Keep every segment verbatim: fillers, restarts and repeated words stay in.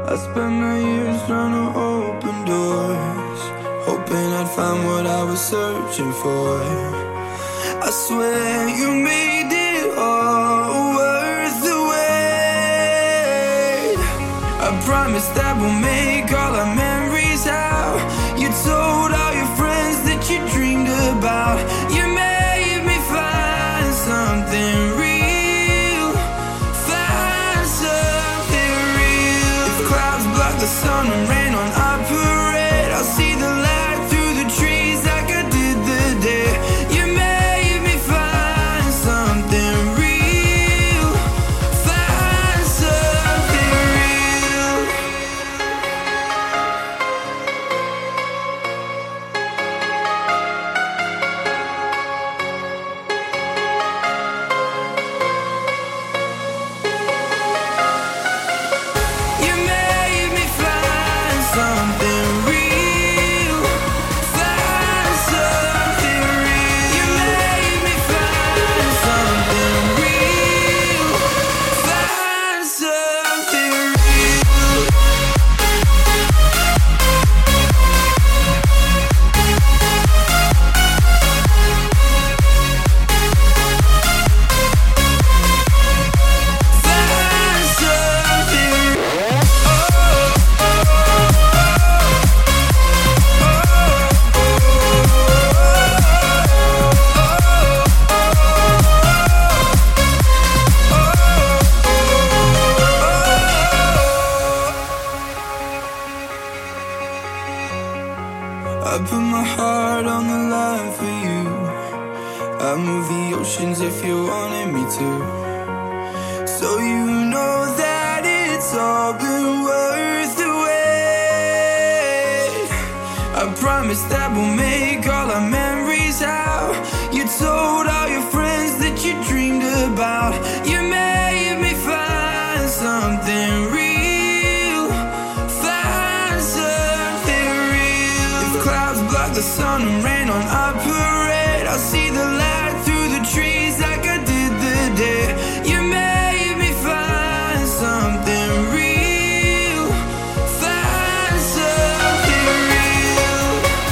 I spent my years trying to open doors, hoping I'd find what I was searching for. I swear you made it all worth the wait. I promise that we'll make all our memories how you told all your friends that you dreamed about. You made me find something real, find something real. If clouds block the sun and rain on our parade, I'll see the light through the trees like I did the day you made me find something real, find something real. You made me find something real, find something real. You made me find something real, find something real. Find something. I put my heart on the line for you. I move the oceans if you wanted me to. So you know that it's all been worth the wait. I promise that we'll make all our memories how you told all your friends that you dreamed about. You made me find something real, find something real. If clouds block the sun and rain on our parade, I'll see the light through the trees like I did the day you made me find something real, find something real,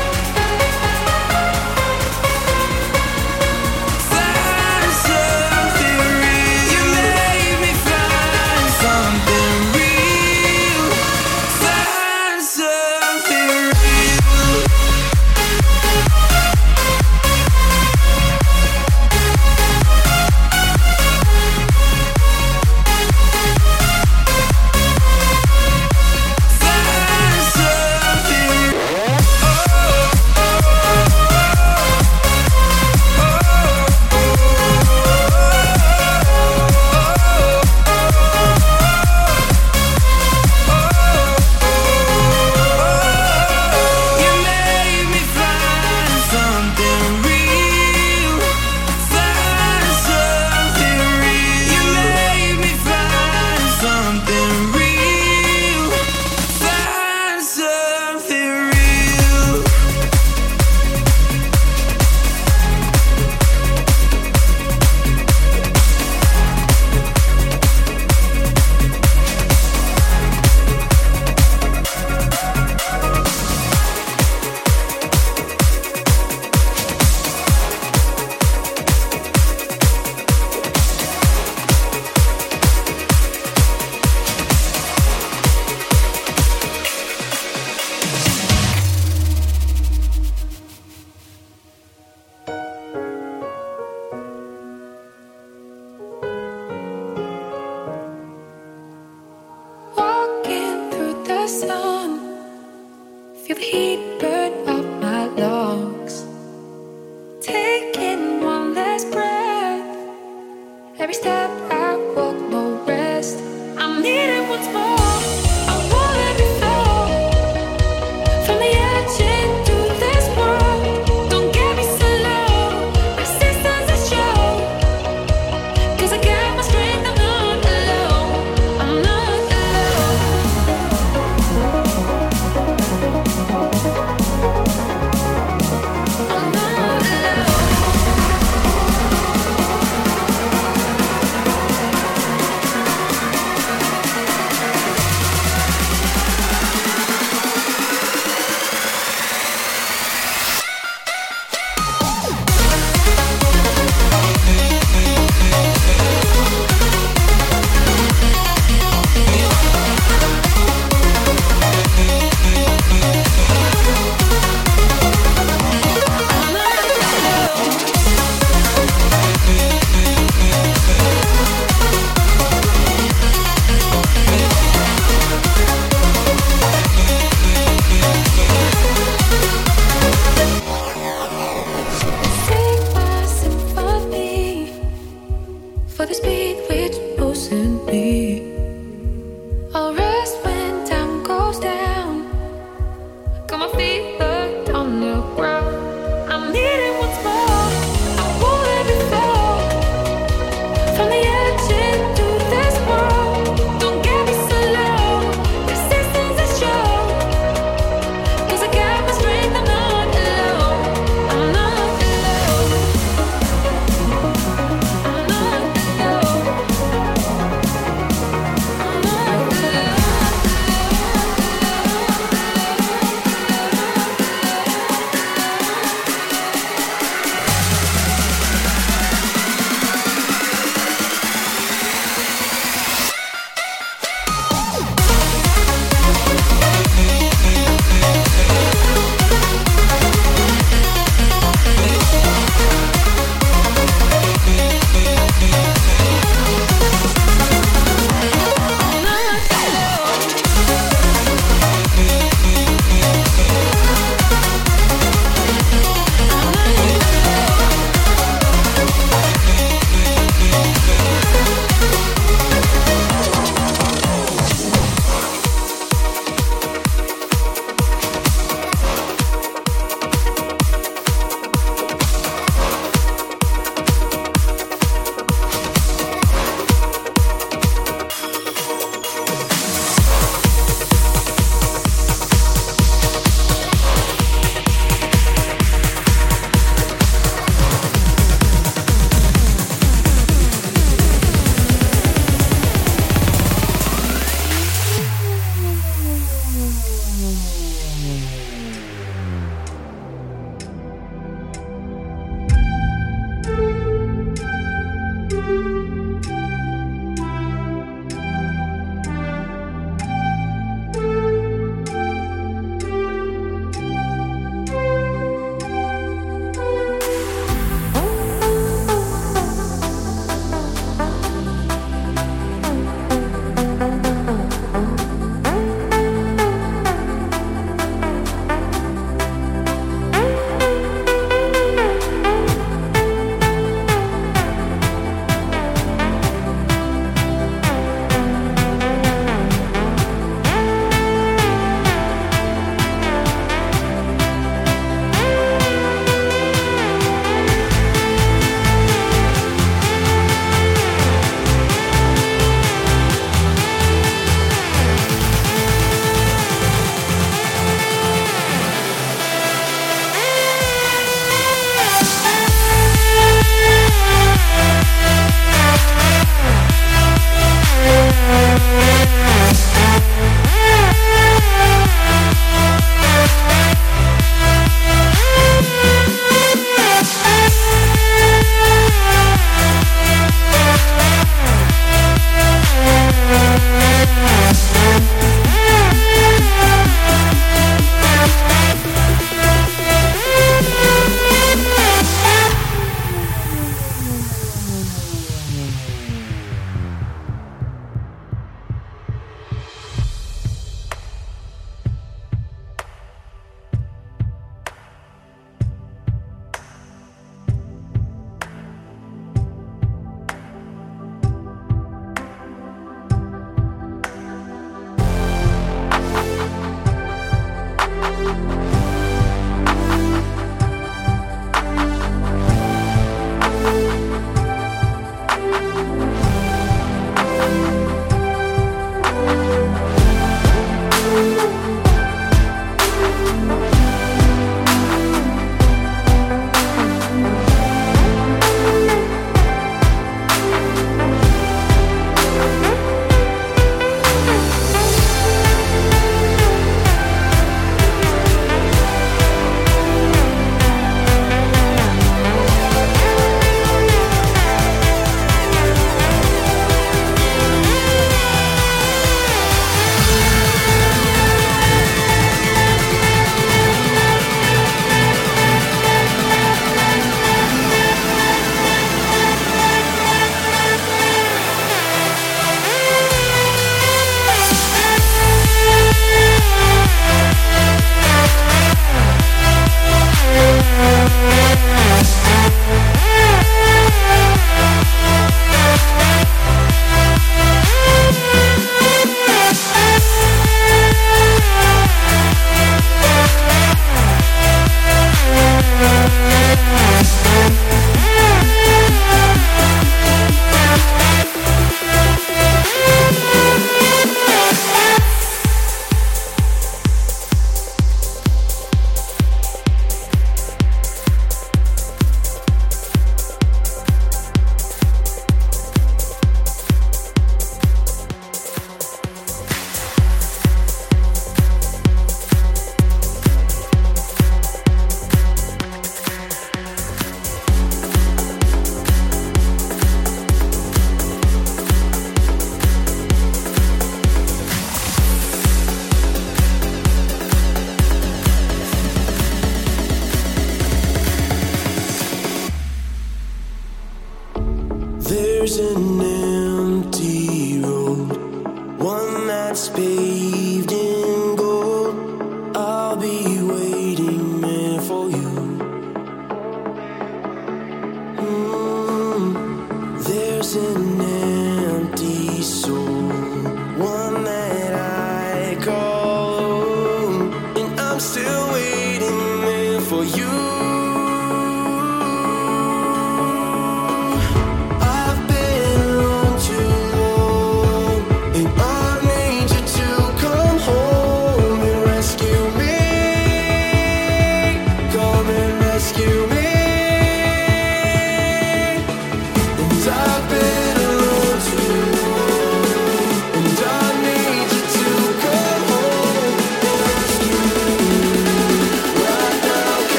find something real. You made me find something real, find something real. Find something. You made me find something real, find something real. You made me find something real, find something real. Walking through the sun, feel the heat burn up my lungs. Taking one last breath, every step I walk, no rest. I'm needing once more. I won't let me fall from the edge into this world. Don't get me so low. Resistance is show, 'cause I got my strength. I'm not alone. I'm not alone.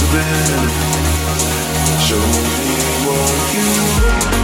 moving. Show me what you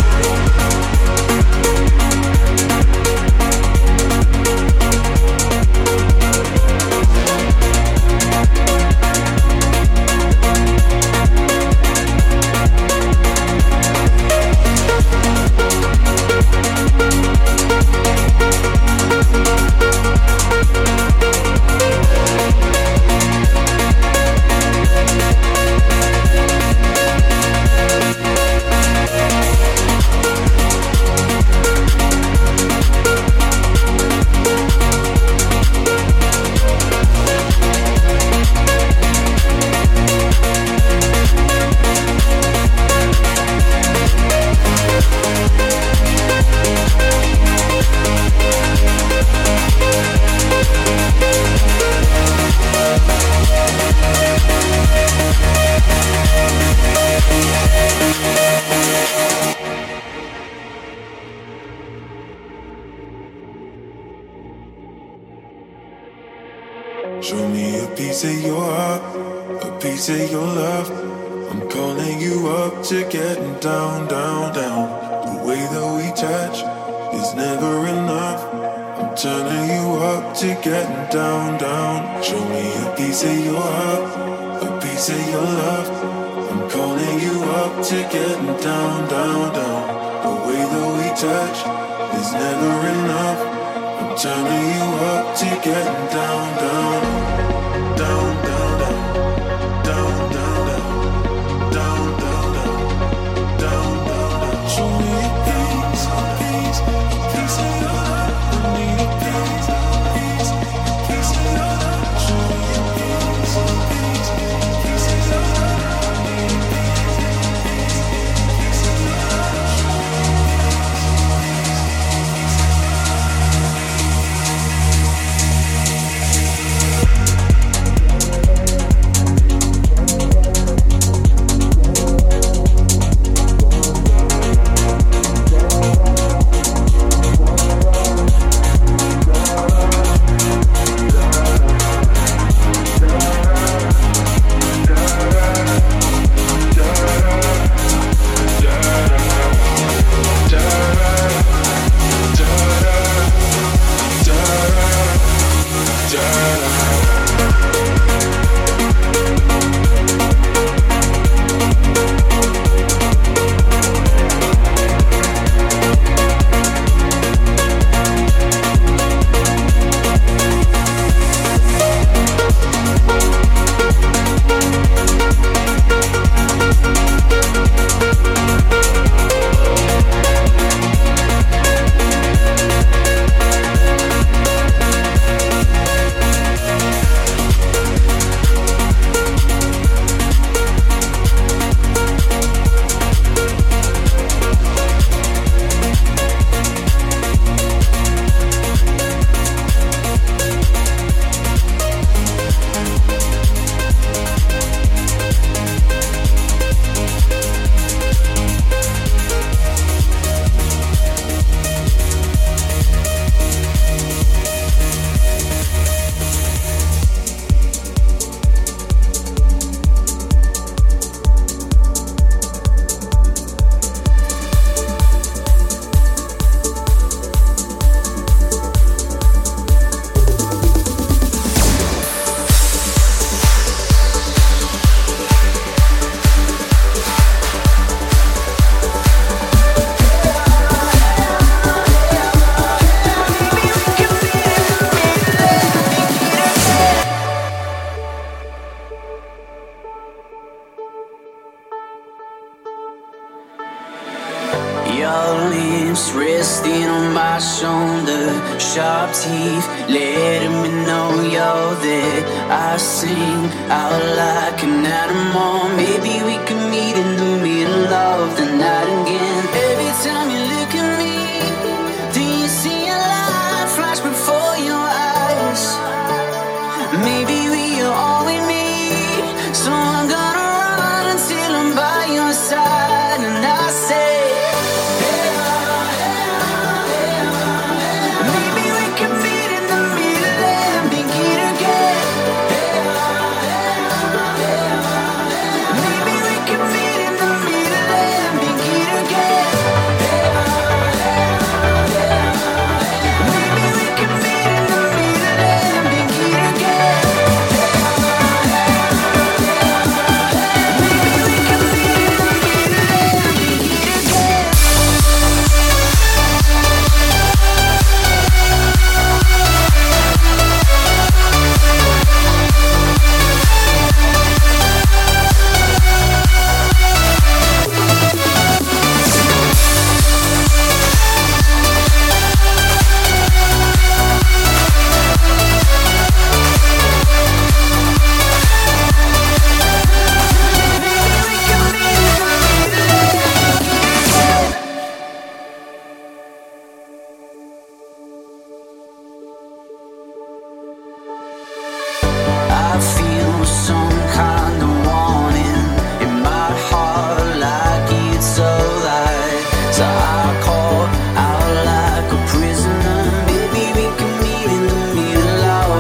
show me a piece of your heart, a piece of your love. I'm calling you up to getting down, down, down. The way that we touch is never enough. I'm turning you up to getting down, down. Show me a piece of your heart, a piece of your love. I'm calling you up to getting down, down, down. The way that we touch is never enough. I'm turning you up to getting down, down, down, down, down, down, down, down, down, down, down, down. Show me a piece, a piece, a piece of your love. I need a piece, a piece, a piece of your love. Show me a piece, a piece, a piece of your love. I need a piece, a piece, a piece of your love. Your lips resting on my shoulder, sharp teeth letting me know you're there. I sing out like an animal. Maybe we can meet in the middle of the night again. Every time you look at me, do you see a light flash before your eyes? Maybe we are all we need, so I'm gonna run until I'm by your side. And I say,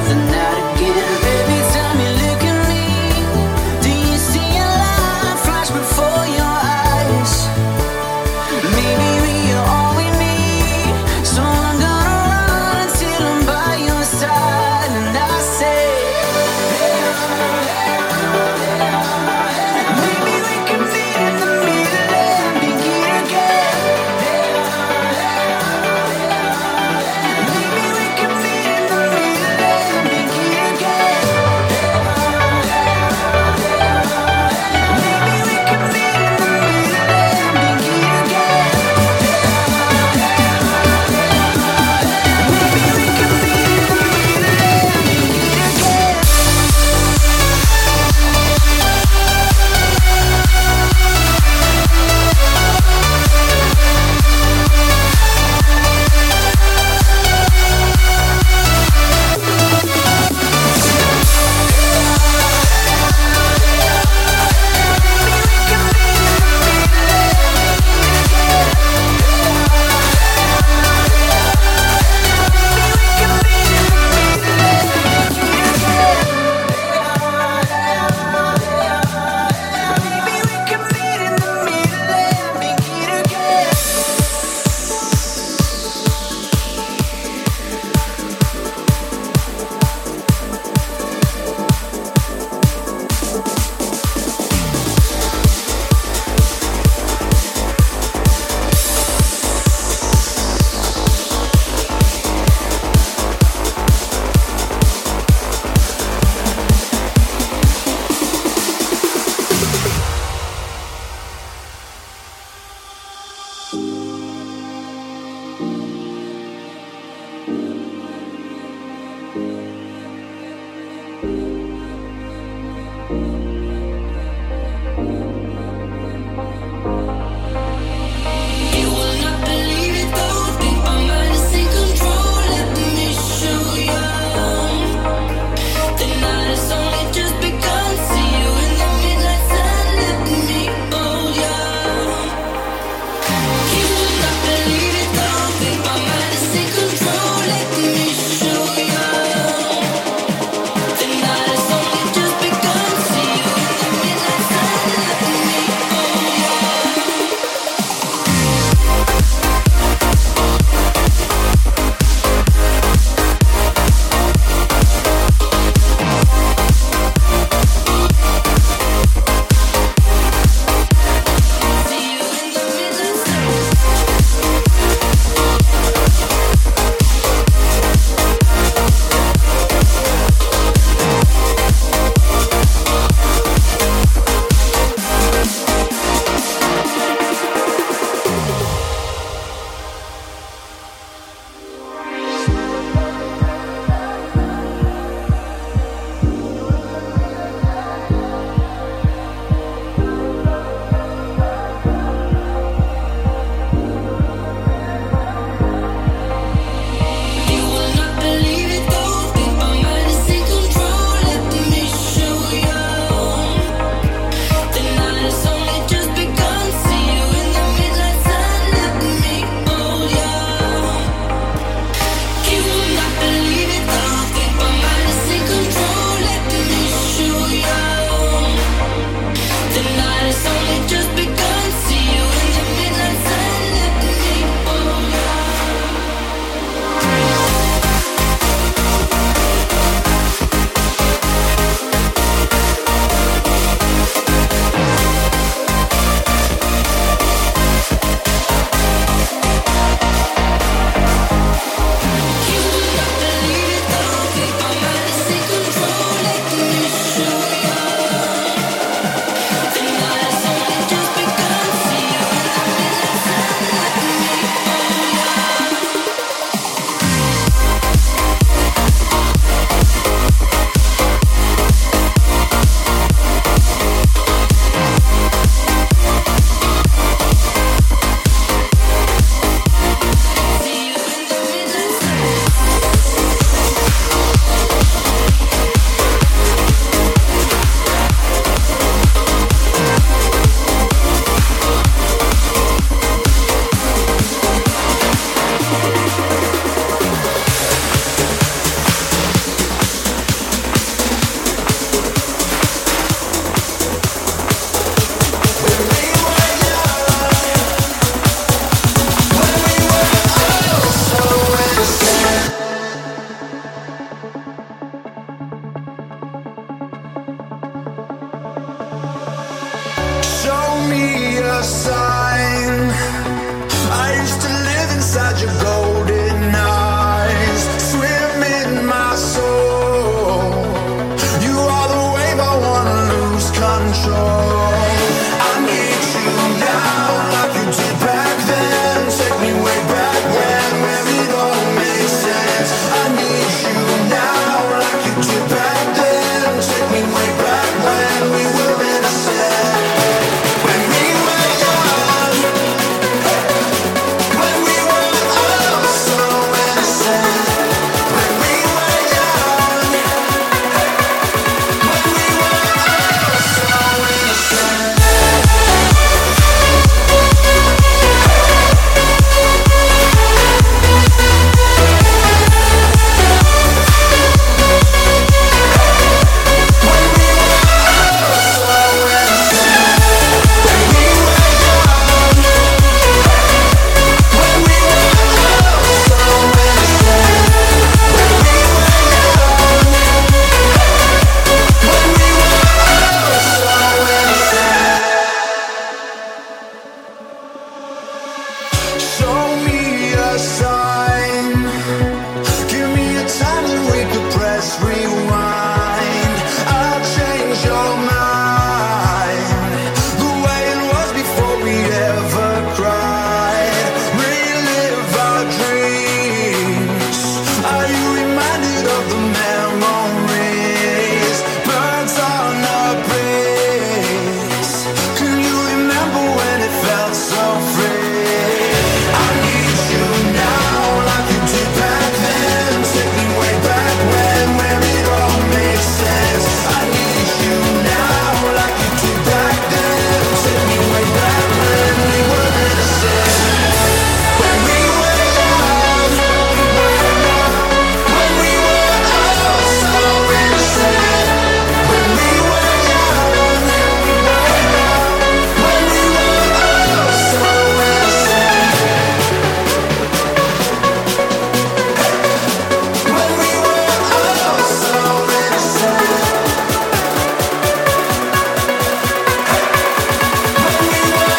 the night again. Every time you look at me, do you see a light flash before your eyes? Maybe we are all we need, so I'm gonna run until I'm by your side. And I say, maybe we can meet in the middle and begin again. Maybe we can meet in the middle and begin. me a sign. I used to live inside your golden eyes, swim in my soul. You are the wave I wanna lose control. I need you now, like you did back then. Take me way back when, where it all makes sense. I need you now, like you did back then. Take me way back when we were innocent. When we were young, when we were all so innocent. When we were young, when we were all so innocent. Show me a sign. Give me a time that we could press rewind. I'll change your mind. The way it was before we ever cried. Relive our dreams. Are you reminded of the memories? Birds on a breeze. Can you remember when it felt so free? I need you now, like you did back then. Take me way back when, where it all makes sense. I need you now, like you did back then. Take me way back when we were innocent. When we were young, when we were all so innocent. When we were young, when we were all so innocent. When we were all so innocent. When we were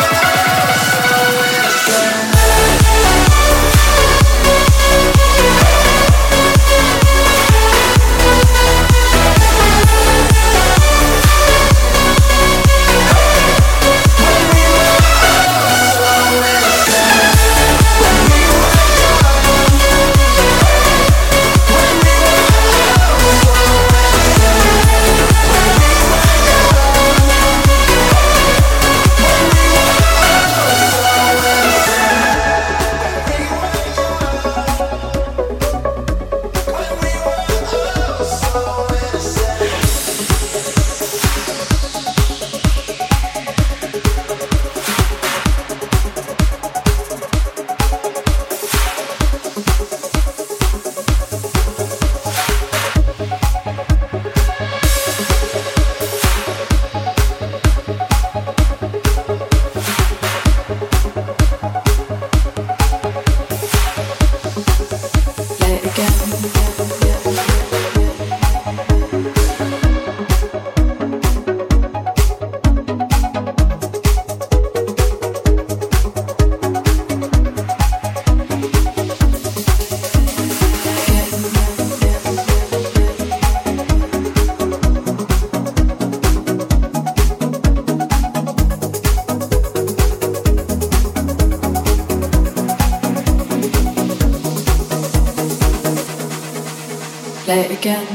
Play it again.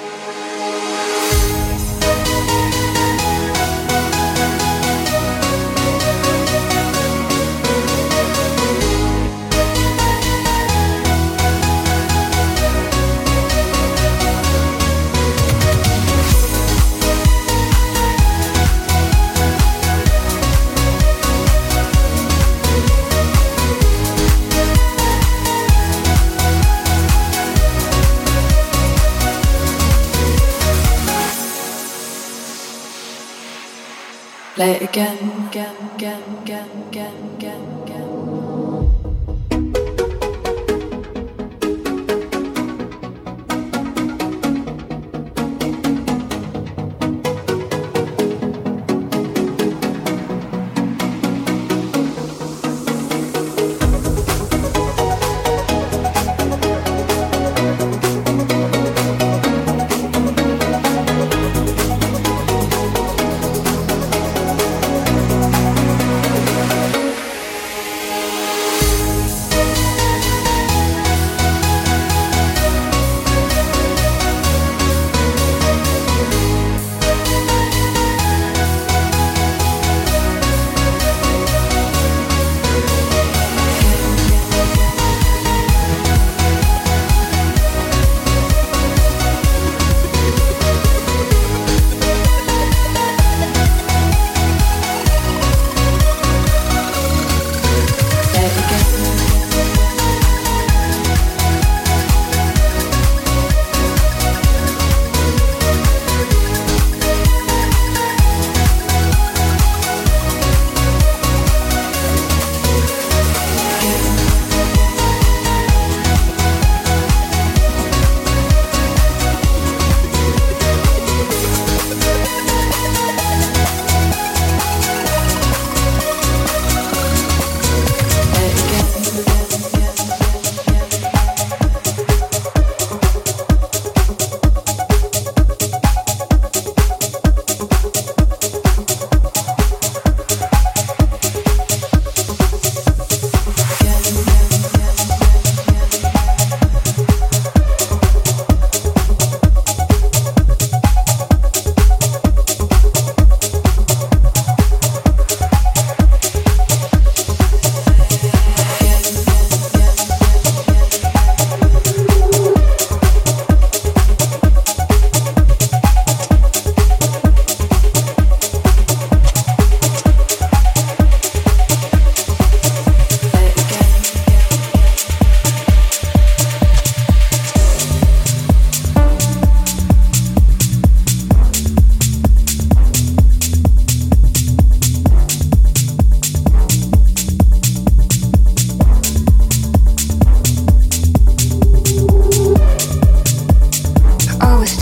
Play it again, again, again, again, again, again, again.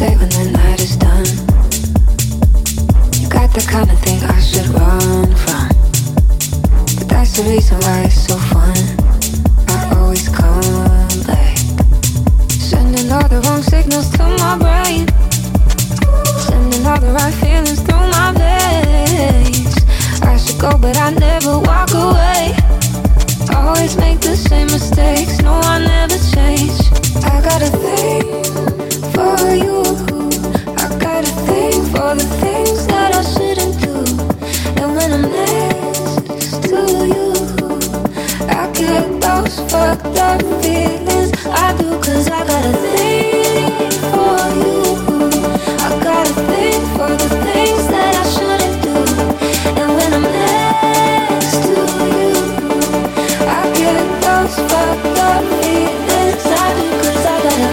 stay when the night is done. You got the kind of thing I should run from, but that's the reason why it's so fun. I always come back, sending all the wrong signals to my brain, sending all the right feelings through my veins. I should go but I never walk away, always make the same mistakes, no I never change. I got a thing for you, I got a thing for the things that I shouldn't do. And when I'm next to you, I get those fucked up feelings. I do, cause I got a thing for you, I got a thing for the things that I shouldn't do. And when I'm next to you, I get those fucked up feelings. I do, cause I got a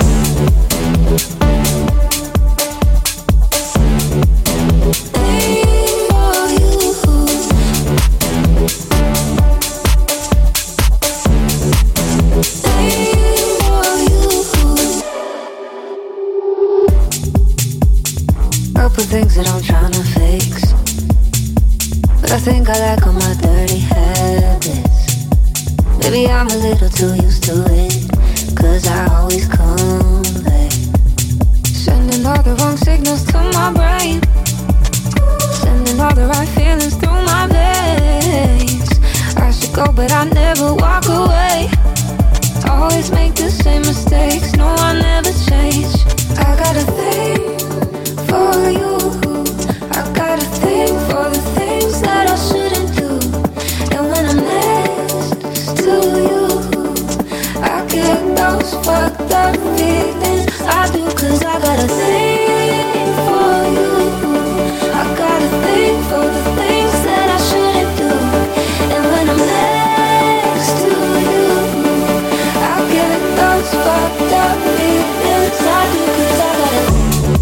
things that I'm trying to fix, but I think I like all my dirty habits. Maybe I'm a little too used to it, cause I always come back, sending all the wrong signals to my brain, sending all the right feelings through my veins. I should go but I never walk away, always make the same mistakes, no I never change. I got a thing for you, I got a thing for the things that I shouldn't do. And when I'm next to you, I get those fucked up feelings. I do, cause I got a thing for you, I got a thing for the things that I shouldn't do. And when I'm next to you, I get those fucked up feelings. I do, cause I got a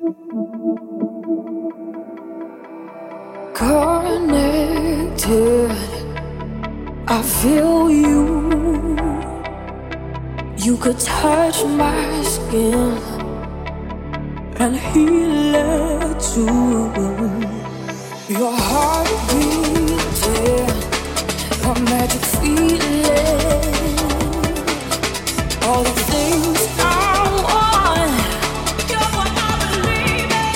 Connected, I feel you. You could touch my skin and heal it too. Your heart beating, a magic feeling. All the things I want, you're what I believe in.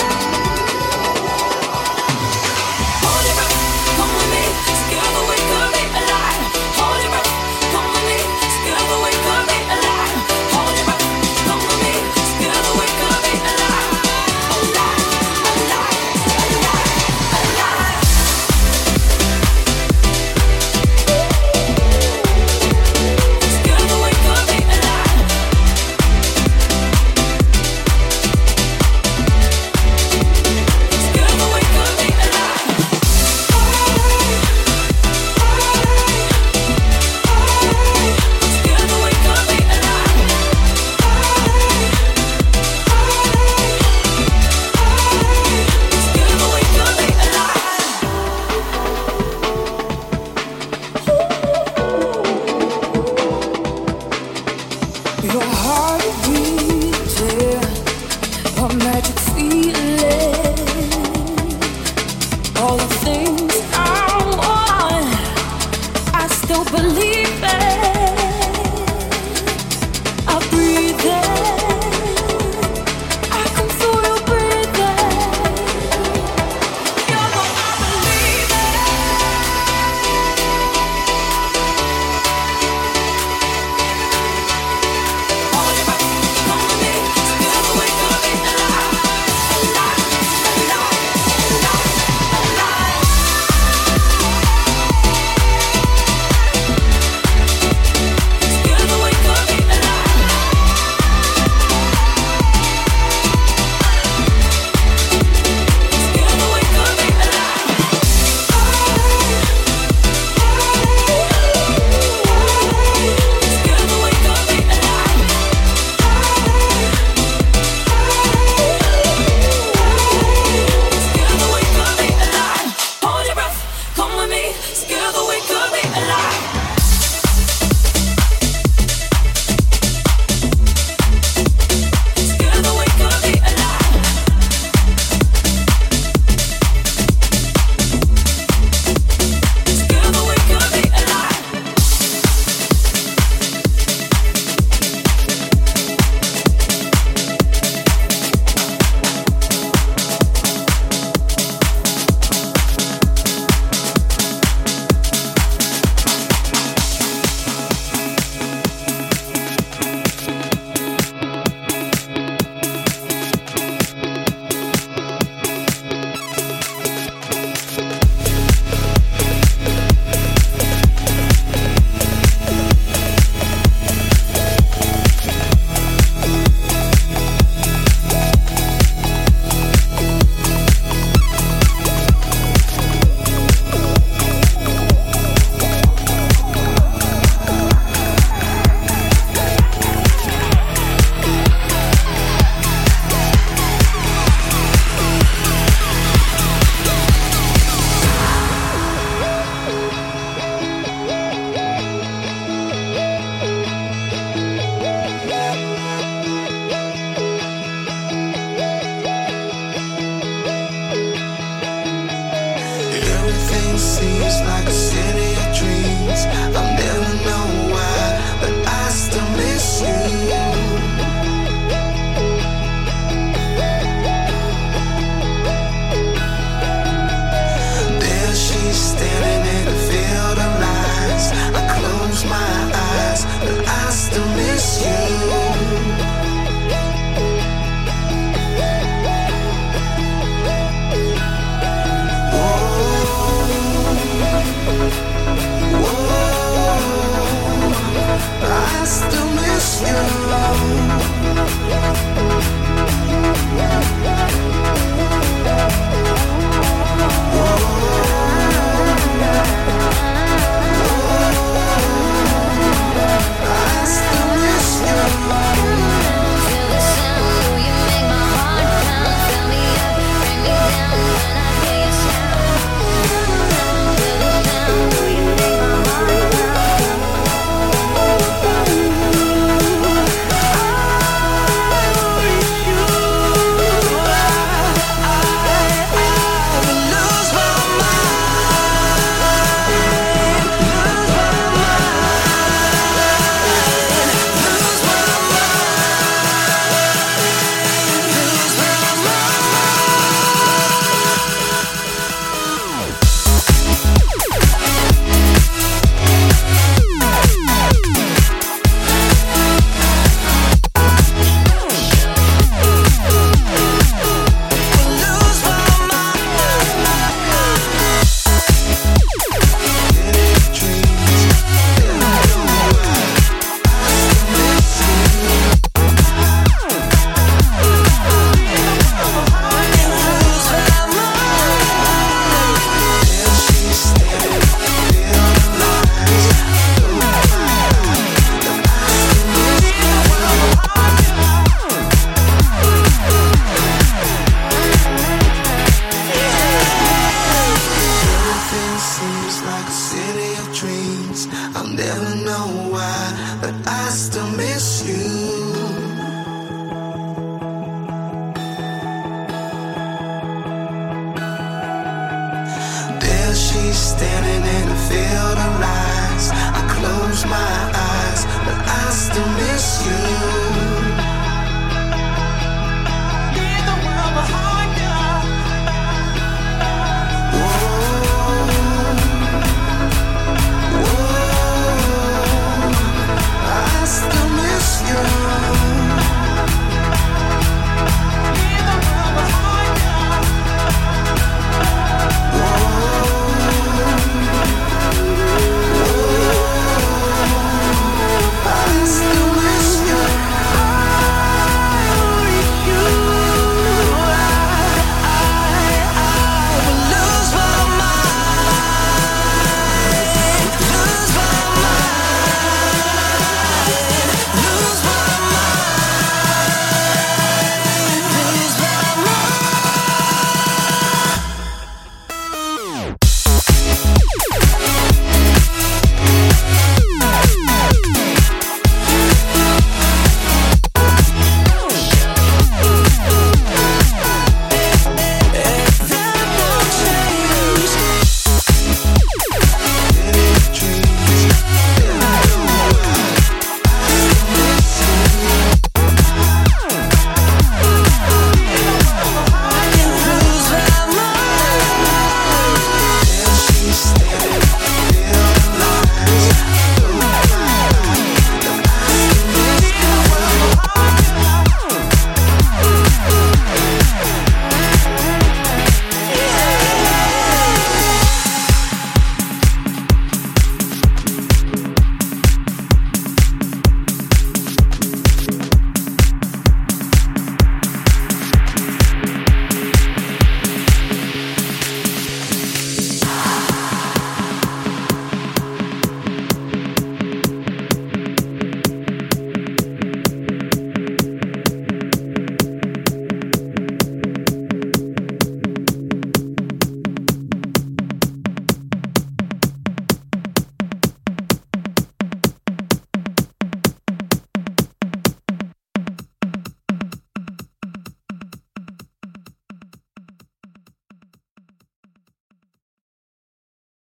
Hold your breath, come with me. Together we could be alive. Hold your breath, come with me. Together we could be alive. Hold your breath, come with me. Together we could be alive. Alive, alive, alive, alive. Together we could be alive. Together we could be alive. Together we could be alive. Together we could be alive. Your heart beating, a magic feeling. All the things I want, I still believe in. I breathe in, I can feel you breathing. You're what I believe in. Hold your breath, come with me. Together we could be alive. Alive, alive, alive, alive. me standing in a field of lies. I close my eyes, but I still miss you.